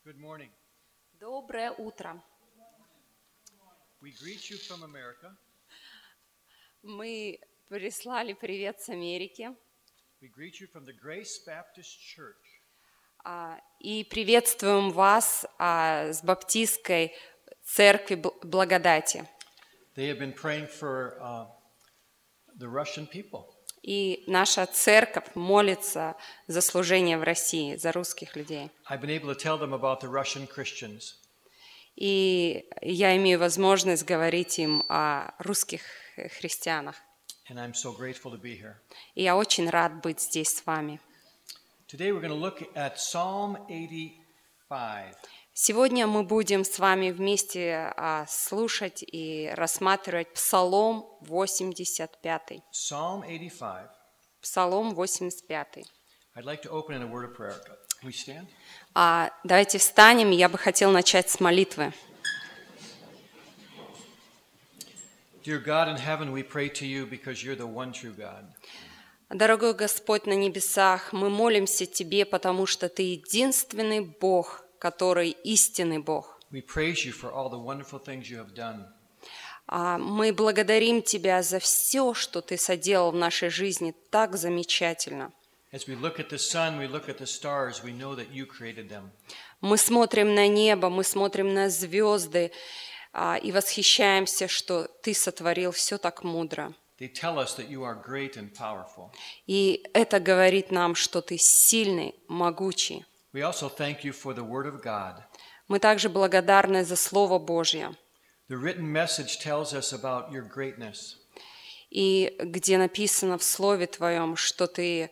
Good morning. Доброе утро. We greet you from America. Мы прислали привет с Америки We greet you from the Grace Baptist Church. и приветствуем вас с Баптистской церкви Благодати. They have been praying for the Russian people. И наша церковь молится за служение в России, за русских людей. I've been able to tell them about the Russian Christians. И я имею возможность говорить им о русских христианах. And I'm so grateful to be here. И я очень рад быть здесь с вами. Today we're going to look at Psalm 85. Сегодня мы будем с вами вместе слушать и рассматривать Псалом 85. Psalm 85. Псалом 85. I'd like to open in a word of prayer. Can we stand? Давайте встанем, я бы хотел начать с молитвы. Dear God in heaven, we pray to you because you're the one true God. Дорогой Господь на небесах, мы молимся Тебе, потому что Ты единственный Бог, который истинный Бог. We praise you for all the wonderful things you have done. Мы благодарим Тебя за все, что Ты соделал в нашей жизни так замечательно. As we look at the sun, we look at the stars, we know that you created them. Мы смотрим на небо, мы смотрим на звезды и восхищаемся, что Ты сотворил все так мудро. They tell us that you are great and powerful. И это говорит нам, что Ты сильный, могучий. We also thank you for the Word of God. Мы также благодарны за Слово Божье, The written message tells us about your greatness. и где написано в Слове Твоем, что Ты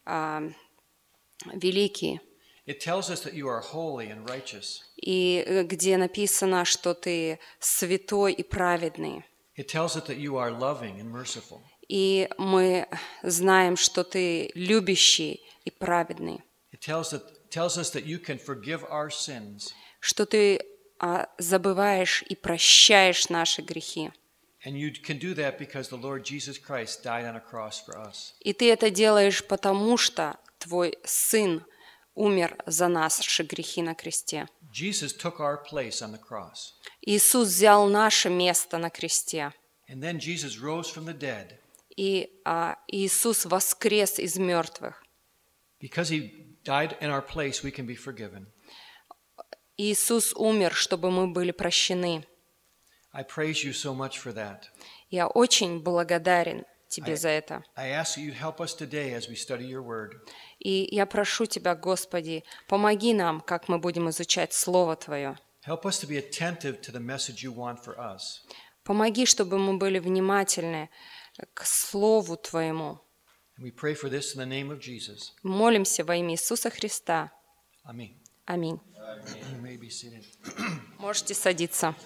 великий, It tells us that you are holy and righteous. и где написано, что Ты святой и праведный. It tells us that you are loving and merciful. И мы знаем, что Ты любящий и праведный, It tells us that you can forgive our sins, что Ты забываешь и прощаешь наши грехи. and you can do that because the Lord Jesus Christ died on a cross for us. И Ты это делаешь потому, что Твой Сын умер за наши грехи на кресте. Jesus took our place on the cross, Иисус взял наше место на кресте. and then Jesus rose from the dead. И Иисус воскрес из мертвых. Because he died in our place, we can be forgiven. Иисус умер, чтобы мы были прощены. I praise you so much for that. Я очень благодарен Тебе за это. I ask that you help us today as we study your word. И я прошу Тебя, Господи, помоги нам, как мы будем изучать Слово Твое. Help us to be attentive to the message you want for us. Помоги, чтобы мы были внимательны к Слову Твоему. And we pray for this in the name of Jesus. Молимся во имя Иисуса Христа. Amen. Аминь. You may be seated. Можете садиться.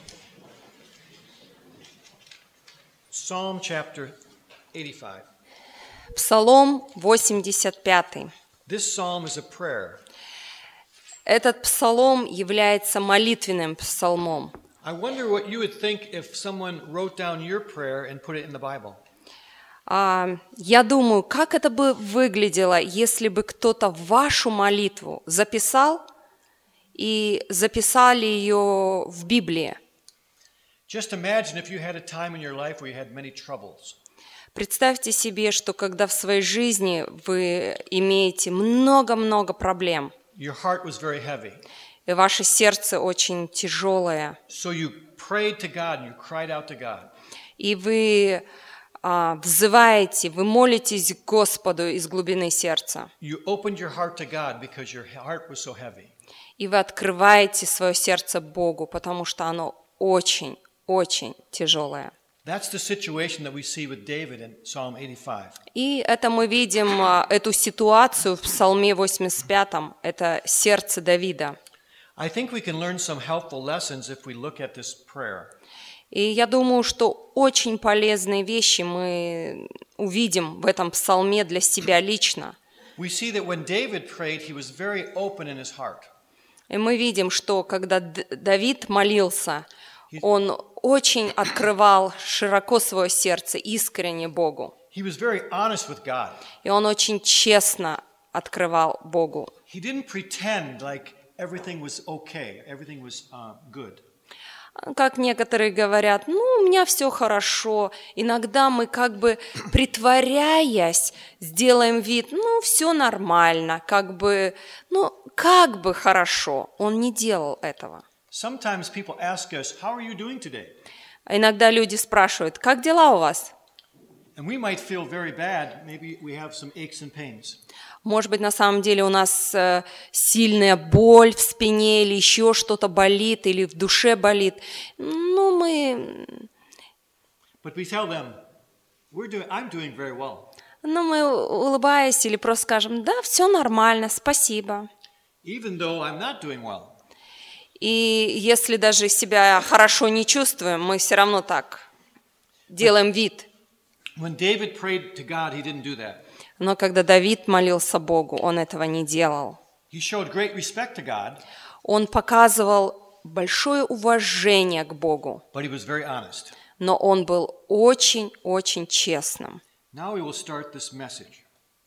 Psalm chapter 85. Псалом 85. This psalm is a prayer. Этот псалом является молитвенным псалмом. I wonder what you would think if someone wrote down your prayer and put it in the Bible. Я думаю, как это бы выглядело, если бы кто-то вашу молитву записал и записали ее в Библии. Just imagine if you had a time in your life where you had many troubles. Представьте себе, что когда в своей жизни вы имеете много-много проблем, Your heart was very heavy. и ваше сердце очень тяжелое, So you prayed to God and you cried out to God. и вы взываете, вы молитесь к Господу из глубины сердца, You opened your heart to God because your heart was so heavy. и вы открываете свое сердце Богу, потому что оно очень тяжелое. That's the situation that we see with David in Psalm 85. И это мы видим, эту ситуацию в Псалме 85, это сердце Давида. I think we can learn some helpful lessons if we look at this prayer. И я думаю, что очень полезные вещи мы увидим в этом псалме для себя лично. We see that when David prayed, he was very open in his heart. И мы видим, что когда Давид молился, он очень открывал широко свое сердце, искренне Богу. He was very honest with God. И он очень честно открывал Богу. He didn't pretend like everything was okay, everything was good. Как некоторые говорят, ну, у меня все хорошо. Иногда мы как бы, притворяясь, сделаем вид, ну, все нормально, как бы хорошо. Он не делал этого. Sometimes people ask us, how are you doing today? А иногда люди спрашивают, как дела у вас? And we might feel very bad. Maybe we have some aches and pains. Может быть, на самом деле у нас сильная боль в спине или еще что-то болит, или в душе болит. Ну, мы... But we tell them, I'm doing very well. Ну, мы, улыбаясь, или просто скажем, да, все нормально, спасибо. Even though I'm not doing well. И если даже себя хорошо не чувствуем, мы все равно так делаем вид. When David prayed to God, he didn't do that. Но когда Давид молился Богу, он этого не делал. He showed great respect to God, Он показывал большое уважение к Богу, but he was very honest. но он был очень-очень честным. Now we will start this message.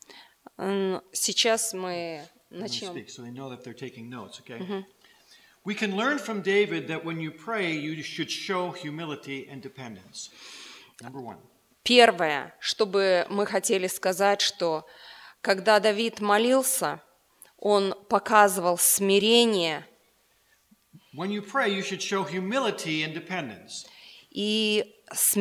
Сейчас мы I'm going to начнем. speak so they know that they're taking notes, okay? We can learn from David that when you pray, you should show humility and dependence. Number one. Первое, что бы мы хотели сказать, что когда Давид молился, он показывал смирение When you pray, you should show humility and dependence. и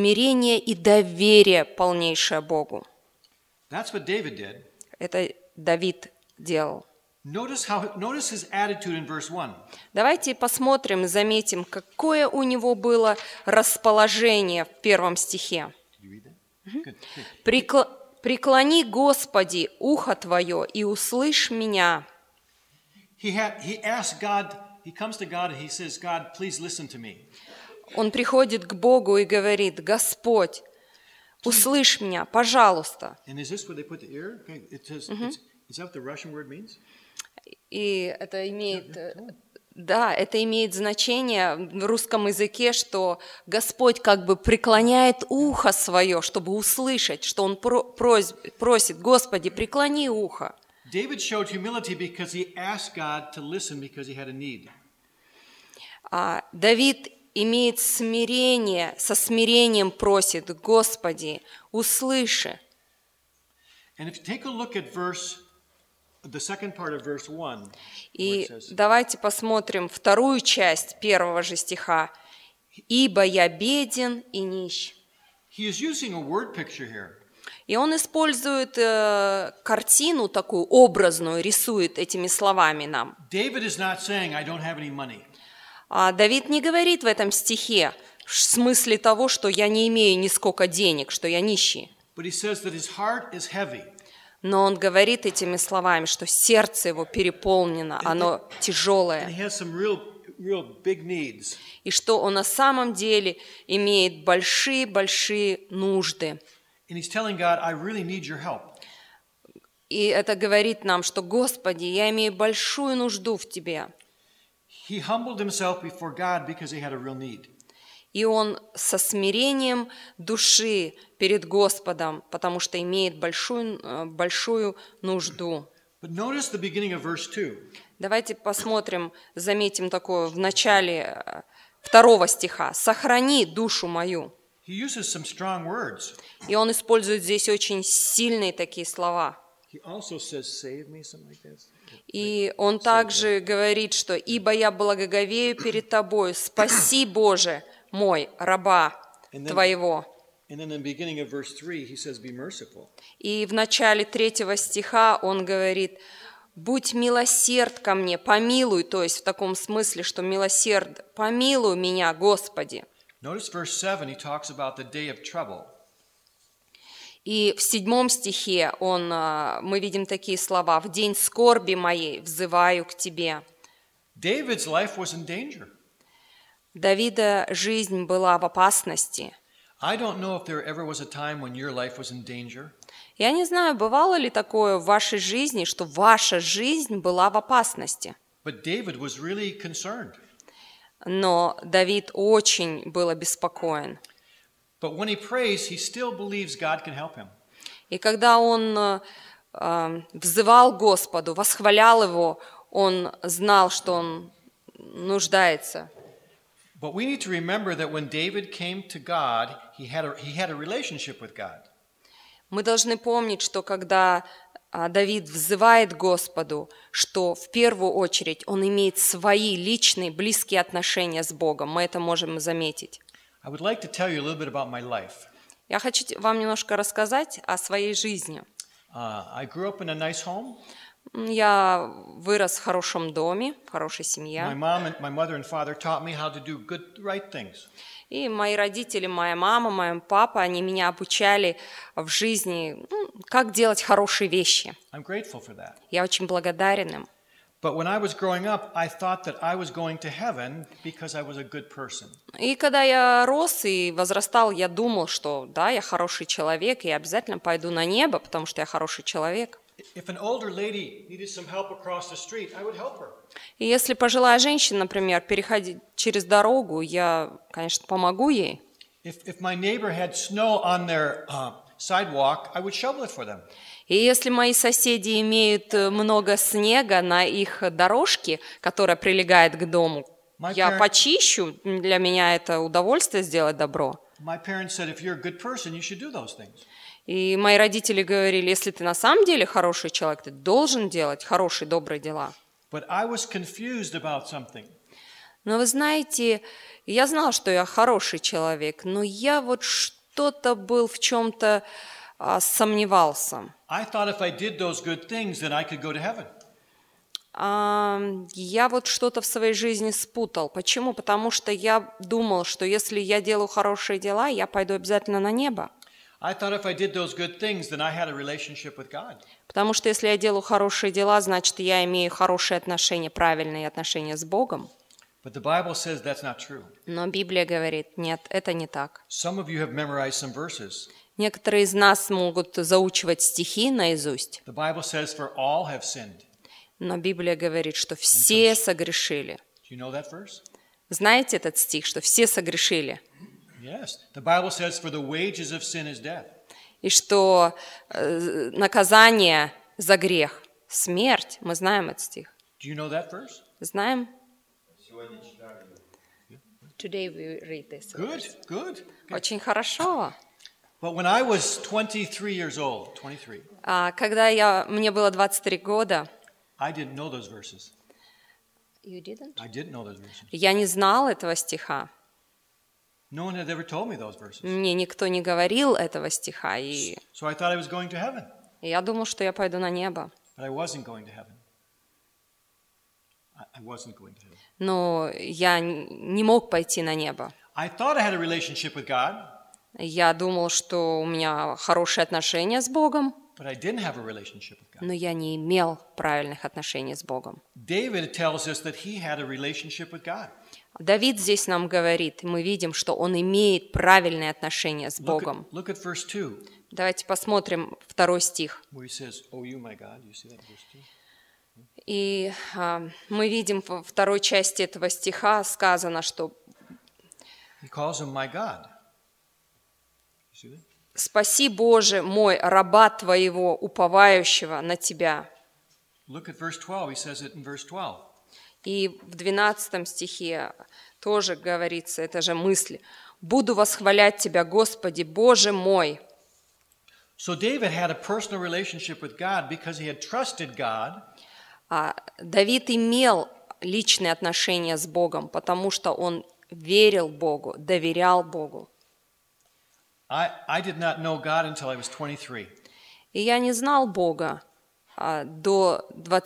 доверие полнейшее Богу. That's what David did. Это Давид делал. Notice his attitude in verse 1. Давайте посмотрим, заметим, какое у него было расположение в 1 стихе. Did you read that? Good. «Преклони, Господи, ухо Твое, и услышь меня». He asked God, he comes to God and he says, God, please listen to me. Он приходит к Богу и говорит, «Господь, услышь меня, пожалуйста». And is this where they put the ear? Okay, it says, is that what the Russian word means? И это имеет, это имеет значение в русском языке, что Господь как бы преклоняет ухо свое, чтобы услышать, что Он просит, Господи, преклони ухо. David showed humility because he asked God to listen because he had a need. Давид имеет смирение, со смирением просит, Господи, услыши. And if you take a look at the second part of verse 1, И давайте посмотрим вторую часть первого же стиха. «Ибо я беден и нищ». he is using a word picture here. И он использует картину такую образную, рисует этими словами нам. David is not saying, I don't have any money. Давид не говорит в этом стихе в смысле того, что я не имею ни сколько денег, что я нищий. But he says that his heart is heavy. Но он говорит этими словами, что сердце его переполнено, оно And тяжелое, he has some real big needs. и что он на самом деле имеет большие-большие нужды. And he's telling God, I really need your help. И это говорит нам, что, Господи, я имею большую нужду в Тебе. He humbled himself before God because he had a real need. И он со смирением души перед Господом, потому что имеет большую нужду. But notice the beginning of verse 2. Давайте посмотрим, заметим такое в начале 2 стиха. «Сохрани душу мою». He uses some strong words. И он использует здесь очень сильные такие слова. He also says, save me, something like this. И он также говорит, что «Ибо я благоговею перед Тобою, спаси, Боже, мой, раба Твоего». And then in the beginning of verse 3, he says, be merciful. И в начале 3 стиха он говорит, «Будь милосерд ко мне, помилуй», то есть в таком смысле, что милосерд, помилуй меня, Господи. Notice verse 7, he talks about the day of trouble. И в 7 стихе мы видим такие слова, «В день скорби моей взываю к Тебе». David's life was in danger. Давида жизнь была в опасности. I don't know if there ever was a time when your life was in danger. Я не знаю, бывало ли такое в вашей жизни, что ваша жизнь была в опасности. But David was really concerned. Но Давид очень был обеспокоен. But when he prays, he still believes God can help him. И когда он взывал Господу, восхвалял Его, он знал, что он нуждается. But we need to remember that when David came to God, he had a relationship with God. Мы должны помнить, что когда Давид взывает к Господу, что в первую очередь он имеет свои личные, близкие отношения с Богом. Мы это можем заметить. I would like to tell you a little bit about my life. Я хочу вам немножко рассказать о своей жизни. I grew up in a nice home. Я вырос в хорошем доме, в хорошей семье. My mother and father taught me how to do good, right things. И мои родители, моя мама, мой папа, они меня обучали в жизни, как делать хорошие вещи. I'm grateful for that. Я очень благодарен им. But when I was growing up, I thought that I was going to heaven because I was a good person. И когда я рос и возрастал, я думал, что да, я хороший человек, и я обязательно пойду на небо, потому что я хороший человек. If an older lady needed some help across the street, I would help her. И если пожилая женщина, например, переходит через дорогу, я, конечно, помогу ей. If my neighbor had snow on their sidewalk, I would shovel it for them. И если мои соседи имеют много снега на их дорожке, которая прилегает к дому, я почищу, для меня это удовольствие сделать добро. My parents said, if you're a good person, you should do those things. И мои родители говорили, если ты на самом деле хороший человек, ты должен делать хорошие, добрые дела. But I was confused about something. Но вы знаете, я знала, что я хороший человек, но я вот что-то был в чем-то сомневался. I thought if I did those good things, then I could go to heaven. Я вот что-то в своей жизни спутал. Почему? Потому что я думал, что если я делаю хорошие дела, я пойду обязательно на небо. I thought if I did those good things, then I had a relationship with God. Потому что если я делаю хорошие дела, значит, я имею хорошие отношения, правильные отношения с Богом. But the Bible says that's not true. Но Библия говорит, нет, это не так. Some of you have memorized some verses. Некоторые из нас могут заучивать стихи наизусть. The Bible says, for all have sinned. Но Библия говорит, что все согрешили. Do you know that verse? Знаете этот стих, что все согрешили? Yes. The Bible says, for the wages of sin is death. И что наказание за грех – смерть. Мы знаем этот стих. Do you know that verse? Знаем? Today we read this. Good, good. Очень хорошо. But when I was 23 years old, 23, Когда мне было 23 года, I didn't know those verses. You didn't? I didn't know those verses. Я не знал этого стиха. No one had ever told me those verses. Мне никто не говорил этого стиха, и So I thought I was going to heaven. я думал, что я пойду на небо. But I wasn't going to heaven. I wasn't going to heaven. Но я не мог пойти на небо. I thought I had a relationship with God, Я думал, что у меня хорошие отношения с Богом, but I didn't have a relationship with God. но я не имел правильных отношений с Богом. David tells us that he had a relationship with God. Давид здесь нам говорит, мы видим, что он имеет правильные отношения с Богом. Look at verse 2, Давайте посмотрим 2 стих. where he says, "Oh, you, my God." You see that in verse 2? И мы видим во второй части этого стиха сказано, что He calls him my God. You see that? «Спаси, Боже мой, раба Твоего, уповающего на Тебя». Look at verse 12. He says it in verse 12. И в 12 стихе тоже говорится эта же мысль. «Буду восхвалять Тебя, Господи, Боже мой». So David had a personal relationship with God because he had trusted God. Давид имел личные отношения с Богом, потому что он верил Богу, доверял Богу. I did not know God until I was 23. И я не знал Бога до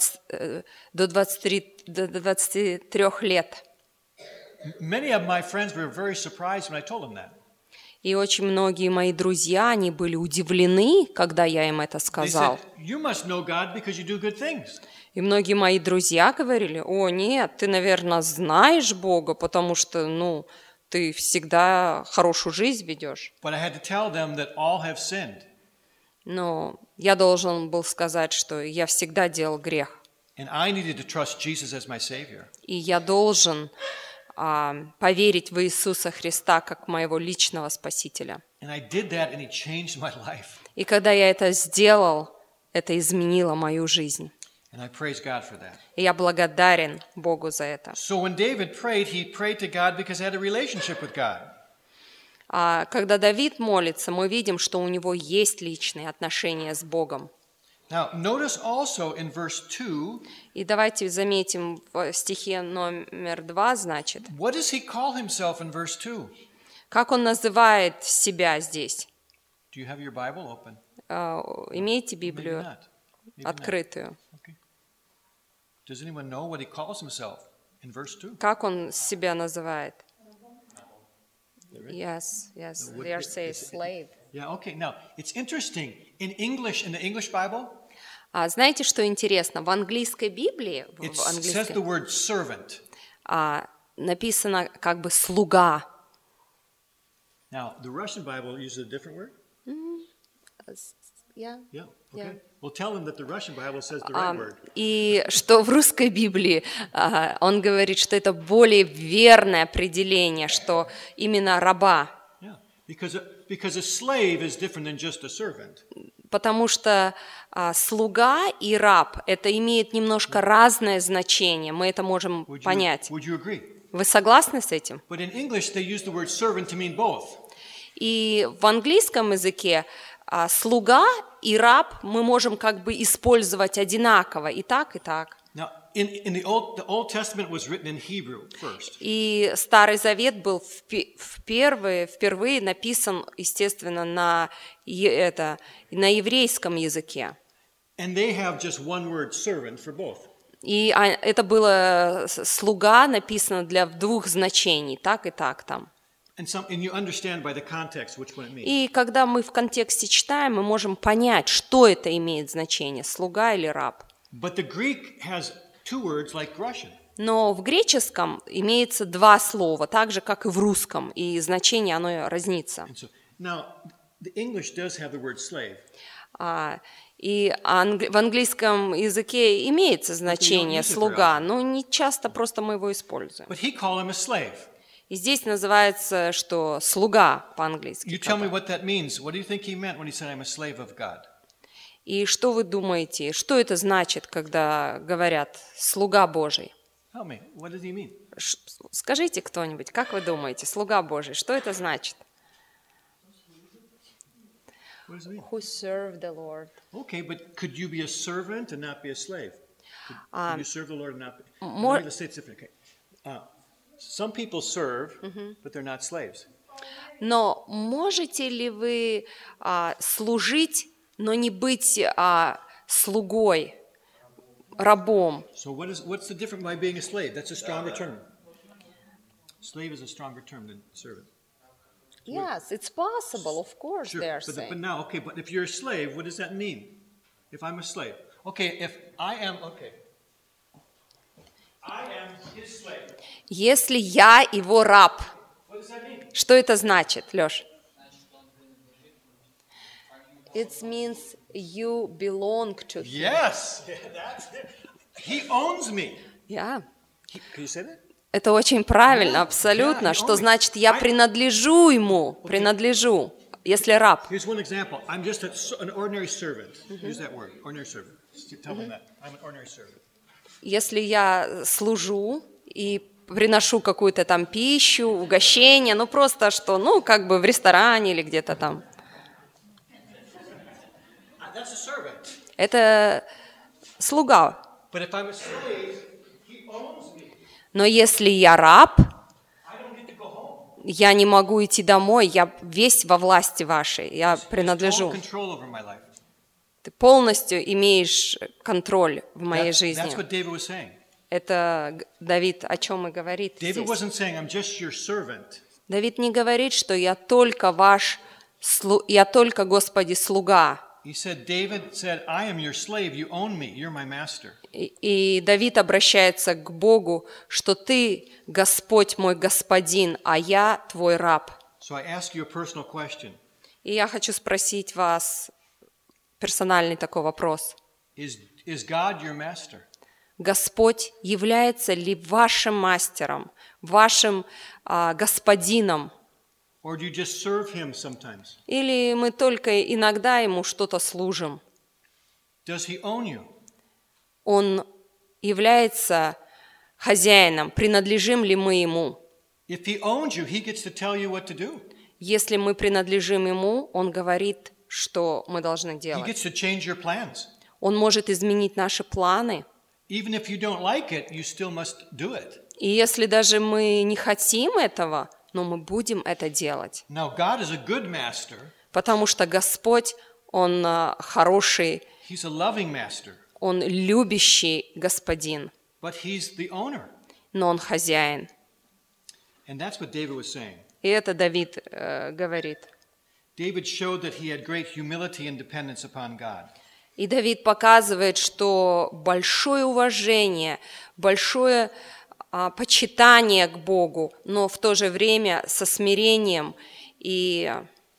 23 лет. Many of my friends were very surprised when I told them that. И очень многие мои друзья, они были удивлены, когда я им это They сказал. said, "You must know God because you do good things." И многие мои друзья говорили, о, нет, ты, наверное, знаешь Бога, потому что, ты всегда хорошую жизнь ведешь. But I had to tell them that all have sinned. Но я должен был сказать, что я всегда делал грех. And I needed to trust Jesus as my Savior. И я должен поверить в Иисуса Христа как моего личного Спасителя. And I did that, and He changed my life. И когда я это сделал, это изменило мою жизнь. And I praise God for that. И я благодарен Богу за это. So when David prayed, he prayed to God because he had a relationship with God. А когда Давид молится, мы видим, что у него есть личные отношения с Богом. Now, notice also in verse 2, И давайте заметим в стихе номер 2, значит, what does he call himself in verse 2? как он называет себя здесь. Do you have your Bible open? Имейте Maybe Библию not. Maybe not. открытую. Okay. Does anyone know what he calls himself in verse 2? Как он себя называет? Yes, they say slave. Yeah, okay. Now, it's interesting. In the English Bible, А знаете, что интересно? В английской Библии, it в says английской, the word servant. написано как бы «слуга». Now, the Russian Bible uses a different word? Yeah, okay. Yeah. Well, tell them that the Russian Bible says the right word. И что в русской Библии он говорит, что это более верное определение, что именно раба. Yeah, because a slave is different than just a servant. Потому что слуга и раб – это имеет немножко разное значение, мы это можем понять. Would you agree? Вы согласны с этим? But in English, they use the word servant to mean both. И в английском языке слуга и раб мы можем как бы использовать одинаково и так, и так. Now, in the Old Testament was written in Hebrew first. И Старый Завет был впервые написан, естественно, на еврейском языке. And they have just one word, servant, for both. И это было слуга написано для двух значений, так и так там. And you understand by the context which one it means. И когда мы в контексте читаем, мы можем понять, что это имеет значение, слуга или раб. But the Greek has two words like Russian. Но в греческом имеется два слова, так же, как и в русском, и значение оно разнится. And so, now, the English does have the word slave. И в английском языке имеется значение слуга, но не часто просто мы его используем. But he called him a slave. И здесь называется, что слуга по-английски. You tell me what that means. What do you think he meant when he said, I'm a slave of God? И что вы думаете, что это значит, когда говорят «слуга Божий»? Tell me, what does he mean? Скажите кто-нибудь, как вы думаете, «слуга Божий», что это значит? What does it mean? Who serve the Lord. Okay, but could you be a servant and not be a slave? Could you serve the Lord and not be? Let's say it's different. Okay. Some people serve, but they're not slaves. Но можете ли вы служить, но не быть слугой, рабом? So what's the difference by being a slave? That's a stronger term. Slave is a stronger term than servant. Yes, it's possible, of course, Sure, they are but saying. now, okay, but if you're a slave, what does that mean? If I'm a slave. Okay, if I am, okay. I am his slave. Если я его раб, What does that mean? что это значит, Лёш? It means you belong to him. Yes, that's it. He owns me. Yeah. Can you say that? Это очень правильно, абсолютно. Что значит я принадлежу ему, принадлежу, если раб. Here's one example. I'm just an ordinary servant. Use that word, ordinary servant. Tell them that. I'm an ordinary servant. Если я служу и приношу какую-то там пищу, угощение, ну просто что, ну как бы в ресторане или где-то там. That's a servant. Это слуга. But if I'm a slave, he owns me. Но если я раб, I don't get to go home. я не могу идти домой, я весь во власти вашей, я принадлежу. Total control over my life. Ты полностью имеешь контроль в моей жизни. That's what David was saying. Это Давид о чем и говорит David здесь. wasn't saying, I'm just your servant. Давид не говорит, что я только Господи, слуга. He said, David said, I am your slave, you own me, you're my master. И Давид обращается к Богу, что ты, Господь мой господин, а я твой раб. So I ask you a personal question. И я хочу спросить вас персональный такой вопрос. Is God your master? Господь является ли вашим мастером, вашим господином? Or do you just serve him sometimes? Или мы только иногда ему что-то служим? Does he own you? Он является хозяином, принадлежим ли мы Ему. If he owns you, he gets to tell you what to do. Если мы принадлежим Ему, Он говорит, что мы должны He делать. gets to change your plans. Он может изменить наши планы. Even if you don't like it, you still must do it. И если даже мы не хотим этого, но мы будем это делать. Now, God is a good master. Потому что Господь, Он хороший, He's a loving master. Он любящий Господин, But he's the owner. но Он хозяин. And that's what David was saying. И это Давид говорит. David showed that he had great humility and dependence upon God. И Давид показывает, что большое уважение, большое почитание к Богу, но в то же время со смирением и...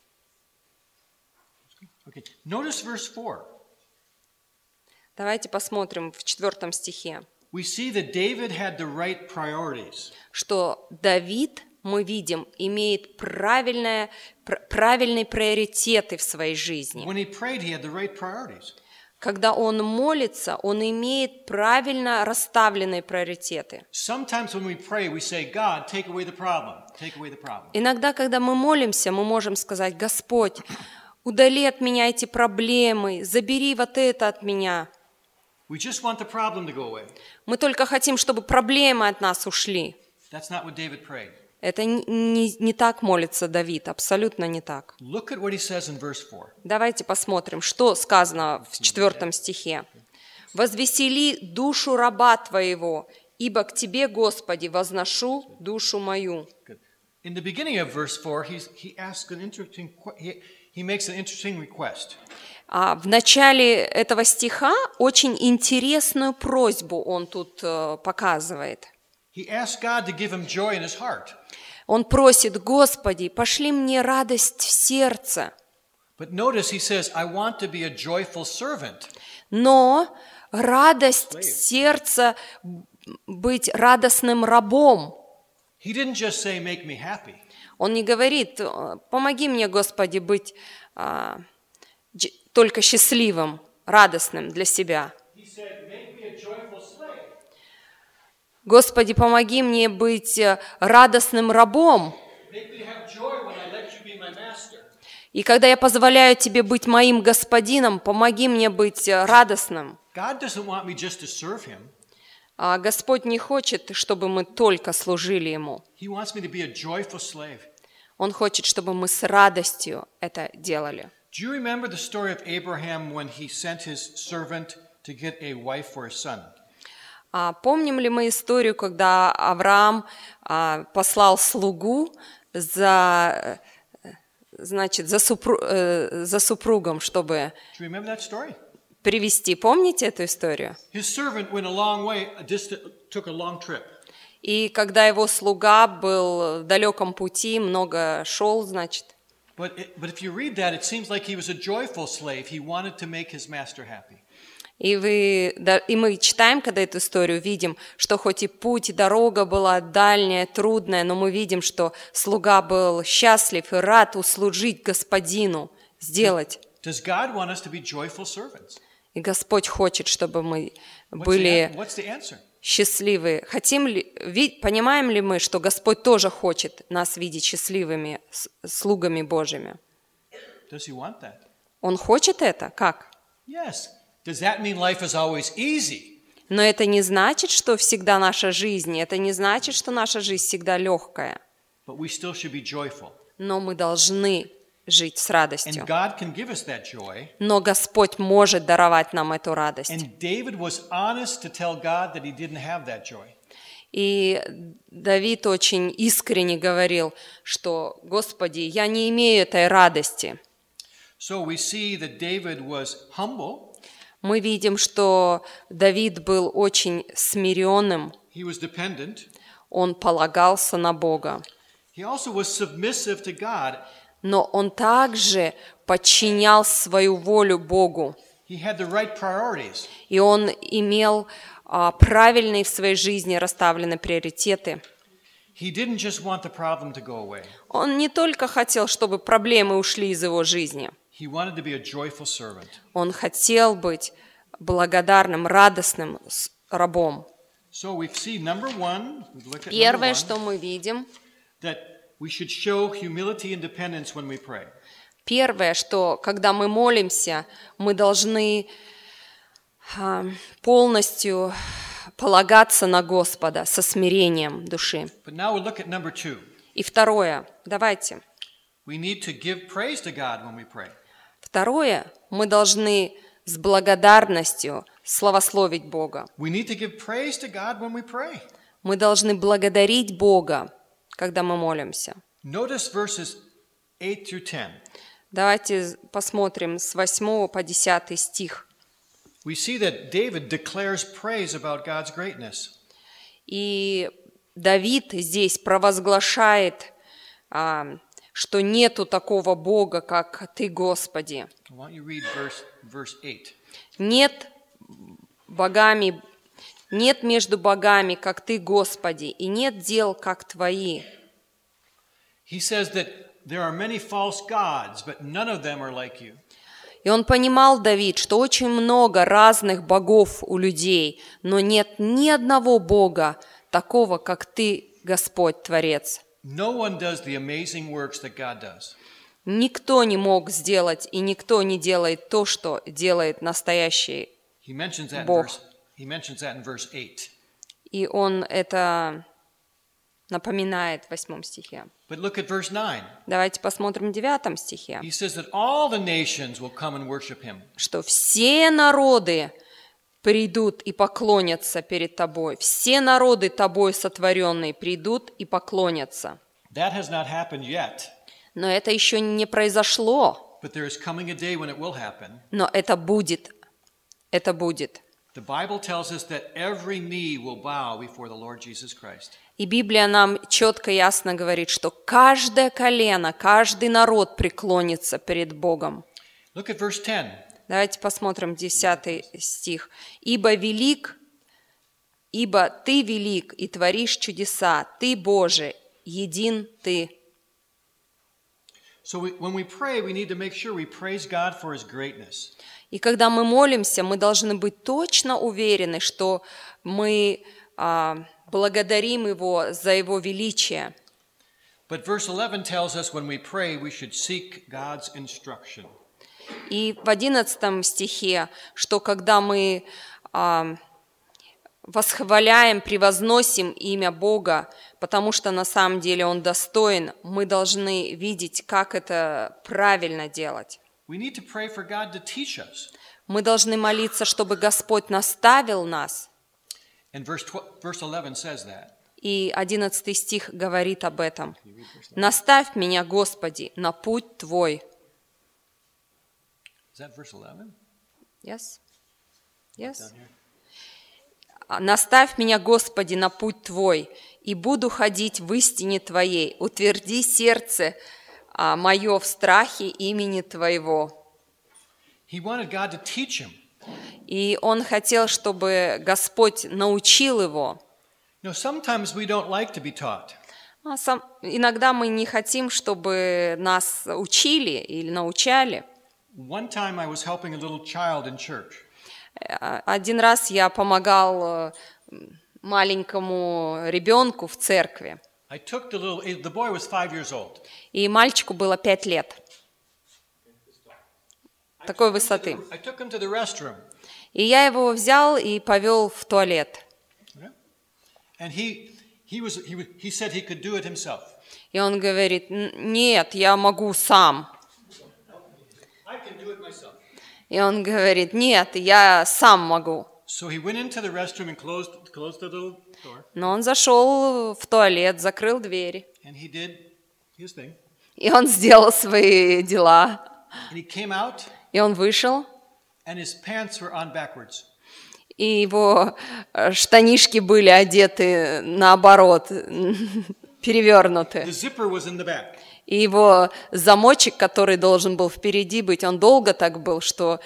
Okay. Notice verse 4. Давайте посмотрим в 4 стихе, We see that David had the right priorities. что Давид, мы видим, имеет правильные приоритеты в своей жизни. When he prayed, he had the right priorities. Когда он молится, он имеет правильно расставленные приоритеты. Sometimes when we pray, we say, God, take away the problem. Take away the problem. Иногда, когда мы молимся, мы можем сказать: Господь, удали от меня эти проблемы, забери вот это от меня. We just want the problem to go away. Мы только хотим, чтобы проблемы от нас ушли. That's not what David prayed. Это не так молится Давид, абсолютно не так. Look at what he says in verse 4. Давайте посмотрим, что сказано в 4 стихе. «Возвесели душу раба Твоего, ибо к Тебе, Господи, возношу душу мою». Good. In the beginning of verse 4, he makes an interesting request. В начале этого стиха очень интересную просьбу он тут показывает. He asks God to give him joy in his heart. Он просит: Господи, пошли мне радость в сердце. But notice he says, I want to be a joyful servant. Но радость сердца, быть радостным рабом. He didn't just say, make me happy. Он не говорит: помоги мне, Господи, быть только счастливым, радостным для себя. He said, make me a joyful slave. Господи, помоги мне быть радостным рабом. Make me have joy when I let you be my master. И когда я позволяю Тебе быть моим господином, помоги мне быть радостным. God doesn't want me just to serve him. А Господь не хочет, чтобы мы только служили Ему. He wants me to be a joyful slave. Он хочет, чтобы мы с радостью это делали. Do you remember the story of Abraham when he sent his servant to get a wife for his son? Помним ли мы историю, когда Авраам послал слугу за супругом, чтобы Do you remember that story? привести? Помните эту историю? His servant went a long way, took a long trip. И когда его слуга был в далеком пути, много шел, значит. But if you read that, it seems like he was a joyful slave. He wanted to make his master happy. И мы читаем, когда эту историю, видим, что хоть и путь, и дорога была дальняя, трудная, но мы видим, что слуга был счастлив и рад услужить господину, сделать. Does God want us to be joyful servants? И Господь хочет, чтобы мы были What's the answer? счастливы. Понимаем ли мы, что Господь тоже хочет нас видеть счастливыми слугами Божьими? Does he want that? Он хочет это? Как? Yes. Does that mean life is always easy? Но это не значит, что всегда наша жизнь, это не значит, что наша жизнь всегда легкая. But we still should be joyful. Но мы должны жить с радостью. And God can give us that joy. Но Господь может даровать нам эту радость. And David was honest to tell God that he didn't have that joy. И Давид очень искренне говорил, что: Господи, я не имею этой радости. So we see that David was humble. Мы видим, что Давид был очень смиренным. He was dependent. Он полагался на Бога. He also was submissive to God. Но он также подчинял свою волю Богу. He had the right priorities. И он имел правильные в своей жизни расставленные приоритеты. He didn't just want the problem to go away. Он не только хотел, чтобы проблемы ушли из его жизни. He wanted to be a joyful servant. Он хотел быть благодарным, радостным рабом. So we see number one, look at Первое, number one, что мы видим, that we should show humility and dependence when we pray. первое, что когда мы молимся, мы должны полностью полагаться на Господа со смирением души. But now we'll look at number two. И второе, давайте. We need to give praise to God when we pray. Второе, мы должны с благодарностью славословить Бога. We need to give praise to God when we pray. Мы должны благодарить Бога, когда мы молимся. Notice verses 8 through 10. Давайте посмотрим с 8 по 10 стих. We see that David declares praise about God's greatness. И Давид здесь провозглашает, что нету такого Бога, как Ты, Господи. Why don't you read verse 8? Нет между богами, как Ты, Господи, и нет дел, как Твои. He says that there are many false gods, but none of them are like you. И он понимал, Давид, что очень много разных богов у людей, но нет ни одного Бога такого, как Ты, Господь, Творец. No one does the amazing works that God does. Никто не мог сделать, и никто не делает то, что делает настоящий He mentions that Бог. in verse 8. И он это напоминает в 8 стихе. But look at verse 9. Давайте посмотрим в 9 стихе, He says that all the nations will come and worship him. что все народы придут и поклонятся перед Тобой. Все народы Тобой сотворенные придут и поклонятся. That has not happened yet, Но это еще не произошло. but there is coming a day when it will happen. Но это будет. Это будет. The Bible tells us that every knee will bow before the Lord Jesus Christ. И Библия нам четко и ясно говорит, что каждое колено, каждый народ преклонится перед Богом. Look at verse 10. Давайте посмотрим 10 стих. «Ибо Ты велик и творишь чудеса, Ты, Боже, един Ты». So when we pray, we need to make sure we praise God for his greatness. И когда мы молимся, мы должны быть точно уверены, что мы благодарим Его за Его величие. But verse 11 tells us when we pray, we should seek God's instruction. И в 11 стихе, что когда мы восхваляем, превозносим имя Бога, потому что на самом деле Он достоин, мы должны видеть, как это правильно делать. We need to pray for God to teach us. Мы должны молиться, чтобы Господь наставил нас. And verse 11 says that. И 11 стих говорит об этом. «Наставь меня, Господи, на путь Твой». Is that verse 11? Yes? Yes? «Наставь меня, Господи, на путь Твой, и буду ходить в истине Твоей. Утверди сердце мое в страхе имени Твоего». He wanted God to teach him. И он хотел, чтобы Господь научил его. You know, sometimes we don't like to be taught. Иногда мы не хотим, чтобы нас учили или научали. One time I was helping a little child in church. Один раз я помогал маленькому ребенку в церкви. I took the boy was 5 years old. И мальчику было 5 лет. Такой высоты. I took him to the restroom. И я его взял и повел в туалет. And he said he could do it himself. И он говорит: нет, я могу сам. I can do it myself. И он говорит: нет, я сам могу. So he went into the restroom and closed the little door. Но он зашел в туалет, закрыл двери. And he did his thing. И он сделал свои дела. And he came out. И он вышел. And his pants were on backwards. И его штанишки были одеты наоборот, перевернуты. The zipper was in the back. И его замочек, который должен был впереди быть, он долго так был, что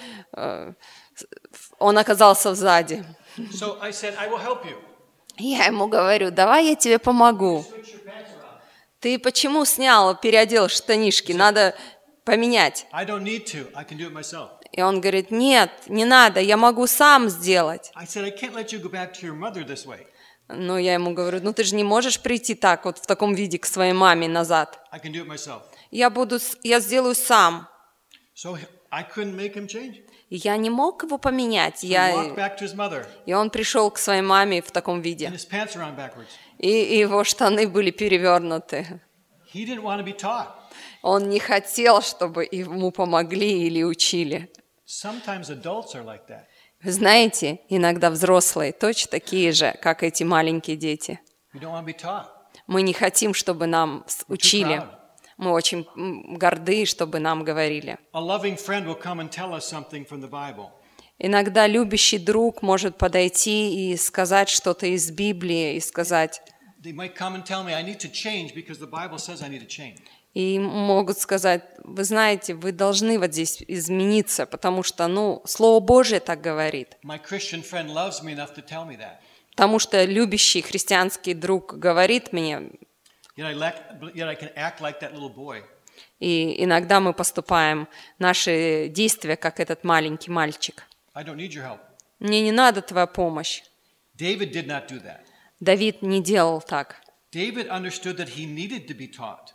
он оказался сзади. So I said, I will help you. Я ему говорю: давай я тебе помогу. Ты почему снял, переодел штанишки? Надо поменять. I don't need to. I can do it myself. И он говорит: нет, не надо, я могу сам сделать. I said, I can't let you go back to your mother this way. Но я ему говорю: ну ты же не можешь прийти так вот в таком виде к своей маме назад. I can do it myself. Я сделаю сам. So I couldn't make him change. И я не мог его поменять. He walked back to his mother. И он пришел к своей маме в таком виде. And his pants are on backwards. И его штаны были перевернуты. He didn't want to be taught. Он не хотел, чтобы ему помогли или учили. Sometimes adults are like that. Вы знаете, иногда взрослые точно такие же, как эти маленькие дети. We don't want to be taught. Мы не хотим, чтобы нам учили. proud. Мы очень горды, чтобы нам говорили. A loving friend will come and tell us something from the Bible. Иногда любящий друг может подойти и сказать что-то из Библии, и сказать, They might come and tell me I need to change because the Bible says I need to change. и могут сказать: вы знаете, вы должны вот здесь измениться, потому что, Слово Божие так говорит. My Christian friend loves me enough to tell me that. Потому что любящий христианский друг говорит мне, Yet I can act like that little boy. и иногда мы поступаем, наши действия, как этот маленький мальчик. I don't need your help. Мне не надо твоя помощь. David did not do that. Давид не делал так. David understood that he needed to be taught.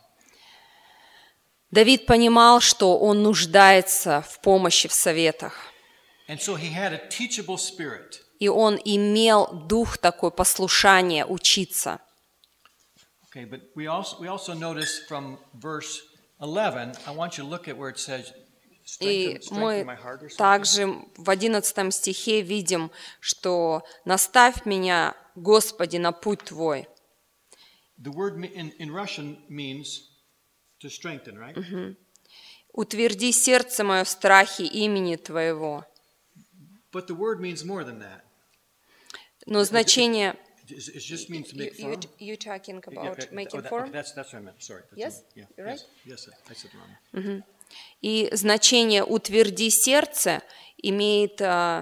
Давид понимал, что он нуждается в помощи, в советах. And so he had a teachable spirit. И он имел дух такой послушания, учиться. Okay, but we also notice from verse 11, I want you to look at where it says, И strengthen мы my heart or something. также в 11 стихе видим, что «наставь меня, Господи, на путь Твой». The word in Russian means to strengthen, right? «Утверди сердце мое в страхе имени Твоего». But the word means more than that. Но значение... It just means to make firm. You talking about Yeah, making okay, firm? that's what I meant. Sorry. Yes? Yeah, You're right? Yes, I said wrong. И значение «утверди сердце» имеет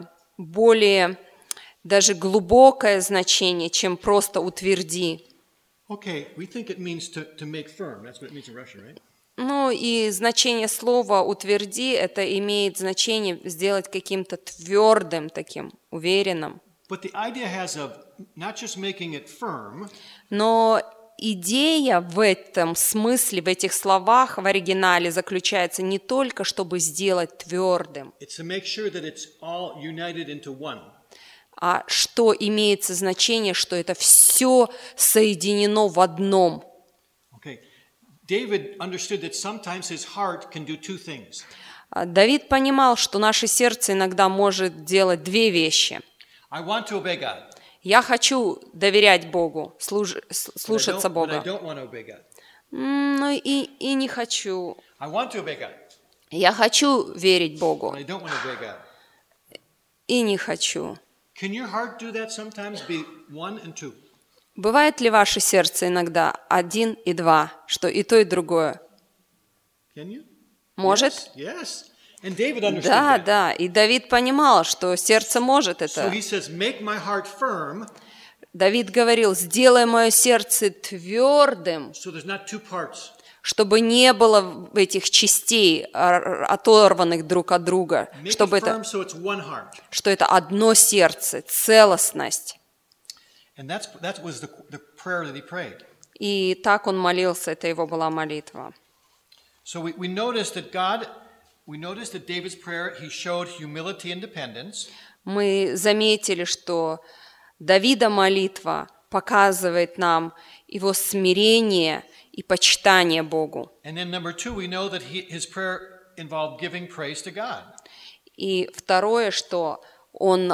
более даже глубокое значение, чем просто «утверди». Okay, we think it means to make firm. That's what it means in Russian, right? Ну и значение слова «утверди» это имеет значение сделать каким-то твердым, таким уверенным. But the idea has of not just making it firm, Но идея в этом смысле, в этих словах в оригинале заключается не только, чтобы сделать твердым, it's to make sure that it's all united into one. а что имеется значение, что это все соединено в одном. Okay. David understood that sometimes his heart can do two things. Давид понимал, что наше сердце иногда может делать две вещи. I want to obey God. Я хочу доверять Богу, слушаться But I Бога. don't want to obey God. Но и не хочу. I want to obey God. Я хочу верить Богу, But I don't want to obey God. и не хочу. Can your heart do that sometimes? Be one and two. Бывает ли ваше сердце иногда 1 и 2, что и то, и другое? Can you? Может? Yes. And David understood Да, that. да. И Давид понимал, что сердце может So это. he says, make my heart firm, Давид говорил: сделай мое сердце твердым, so there's not two parts. чтобы не было этих частей, оторванных друг от друга, Make чтобы it firm это, so it's one heart. что это одно сердце, целостность. And that was the prayer that he prayed. И так он молился, это его была молитва. So we noticed that David's prayer, he showed humility and dependence. Мы заметили, что Давида молитва показывает нам его смирение и почитание Богу. And then number two, we know that his prayer involved giving praise to God. И второе, что он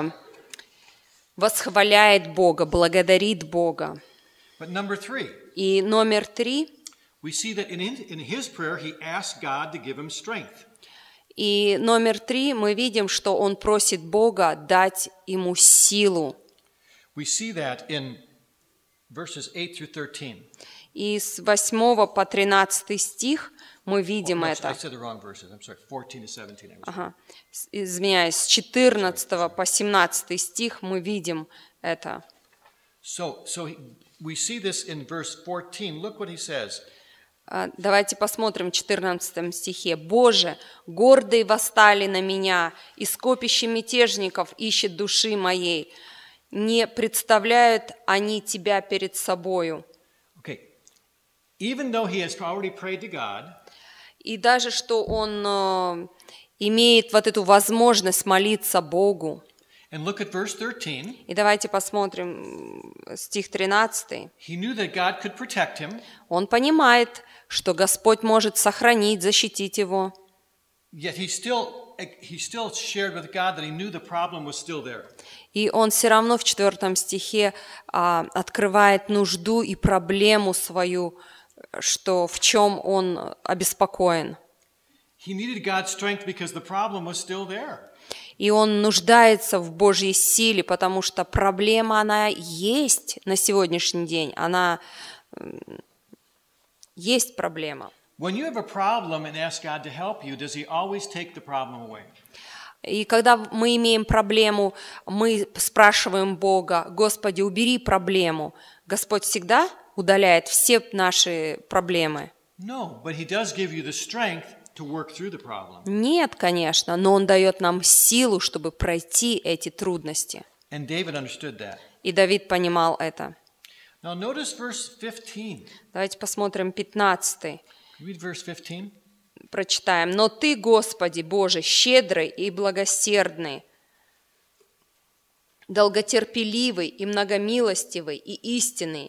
восхваляет Бога, благодарит Бога. But number three, И номер 3, we see that in his prayer, he asked God to give him strength. и номер 3 мы видим, что он просит Бога дать ему силу. We see that in verses 8 through 13. И с 8 по 13 стих мы видим I это. said the wrong verses. I'm sorry, 14 to 17. Ага. Извиняюсь, с 14 по 17 стих мы видим это. So we see this in verse 14. Look what he says. Давайте посмотрим в 14 стихе. «Боже, гордые восстали на меня, и скопище мятежников ищет души моей. Не представляют они тебя перед собою». Okay. Even though he has already prayed to God, и даже что он имеет вот эту возможность молиться Богу. and look at verse 13. И давайте посмотрим стих 13. He knew that God could protect him. Он понимает, что Господь может сохранить, защитить его. Yet he still shared with God that he knew the problem was still there. И он все равно в 4 стихе открывает нужду и проблему свою, что в чем он обеспокоен. He needed God's strength because the problem was still there. И он нуждается в Божьей силе, потому что проблема, она есть на сегодняшний день. Она есть проблема. When you have a problem and ask God to help you, does he always take the problem away? И когда мы имеем проблему, мы спрашиваем Бога: «Господи, убери проблему». Господь всегда удаляет все наши проблемы? No, but he does give you the strength to work through the problem. Нет, конечно, но Он дает нам силу, чтобы пройти эти трудности. And David understood that. И Давид понимал это. Now notice verse 15. Давайте посмотрим 15. Read verse 15. Прочитаем. «Но Ты, Господи Боже, щедрый и благосердный, долготерпеливый и многомилостивый и истинный».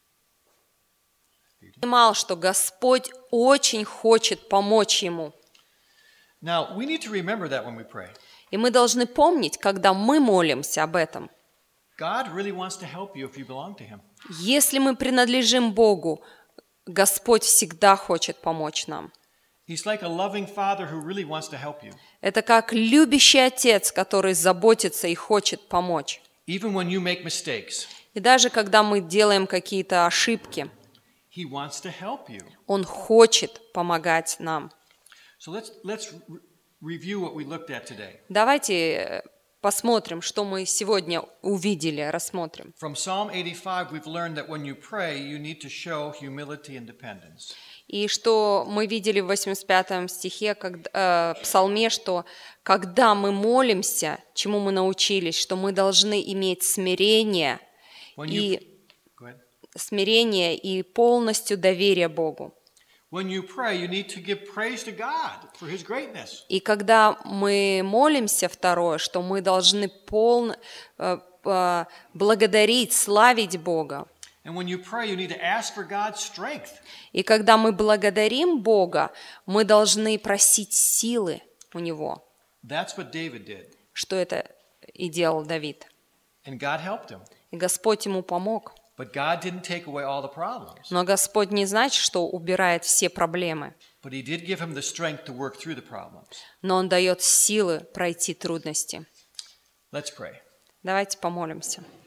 Понимал, что Господь очень хочет помочь ему. Now, we need to remember that when we pray. И мы должны помнить, когда мы молимся об этом. God really wants to help you if you belong to him. Если мы принадлежим Богу, Господь всегда хочет помочь нам. He's like a loving father who really wants to help you. Это как любящий отец, который заботится и хочет помочь. Even when you make mistakes, И даже когда мы делаем какие-то ошибки, he wants to help you. Он хочет помогать нам. So let's review what we looked at today. Давайте посмотрим, что мы сегодня увидели, рассмотрим. From Psalm 85, we've learned that when you pray, you need to show humility and dependence. И что мы видели в 85 стихе, Псалме, что когда мы молимся, чему мы научились, что мы должны иметь смирение и полностью доверие Богу. When you pray, you need to give praise to God for his greatness. И когда мы молимся, второе, что мы должны благодарить, славить Бога. And when you pray, you need to ask for God's strength. И когда мы благодарим Бога, мы должны просить силы у Него. That's what David did. Что это и делал Давид. And God helped him. И Господь ему помог. But God didn't take away all the problems. Но Господь не значит, что убирает все проблемы. But he did give him the strength to work through the problems. Но Он дает силы пройти трудности. Let's pray. Давайте помолимся.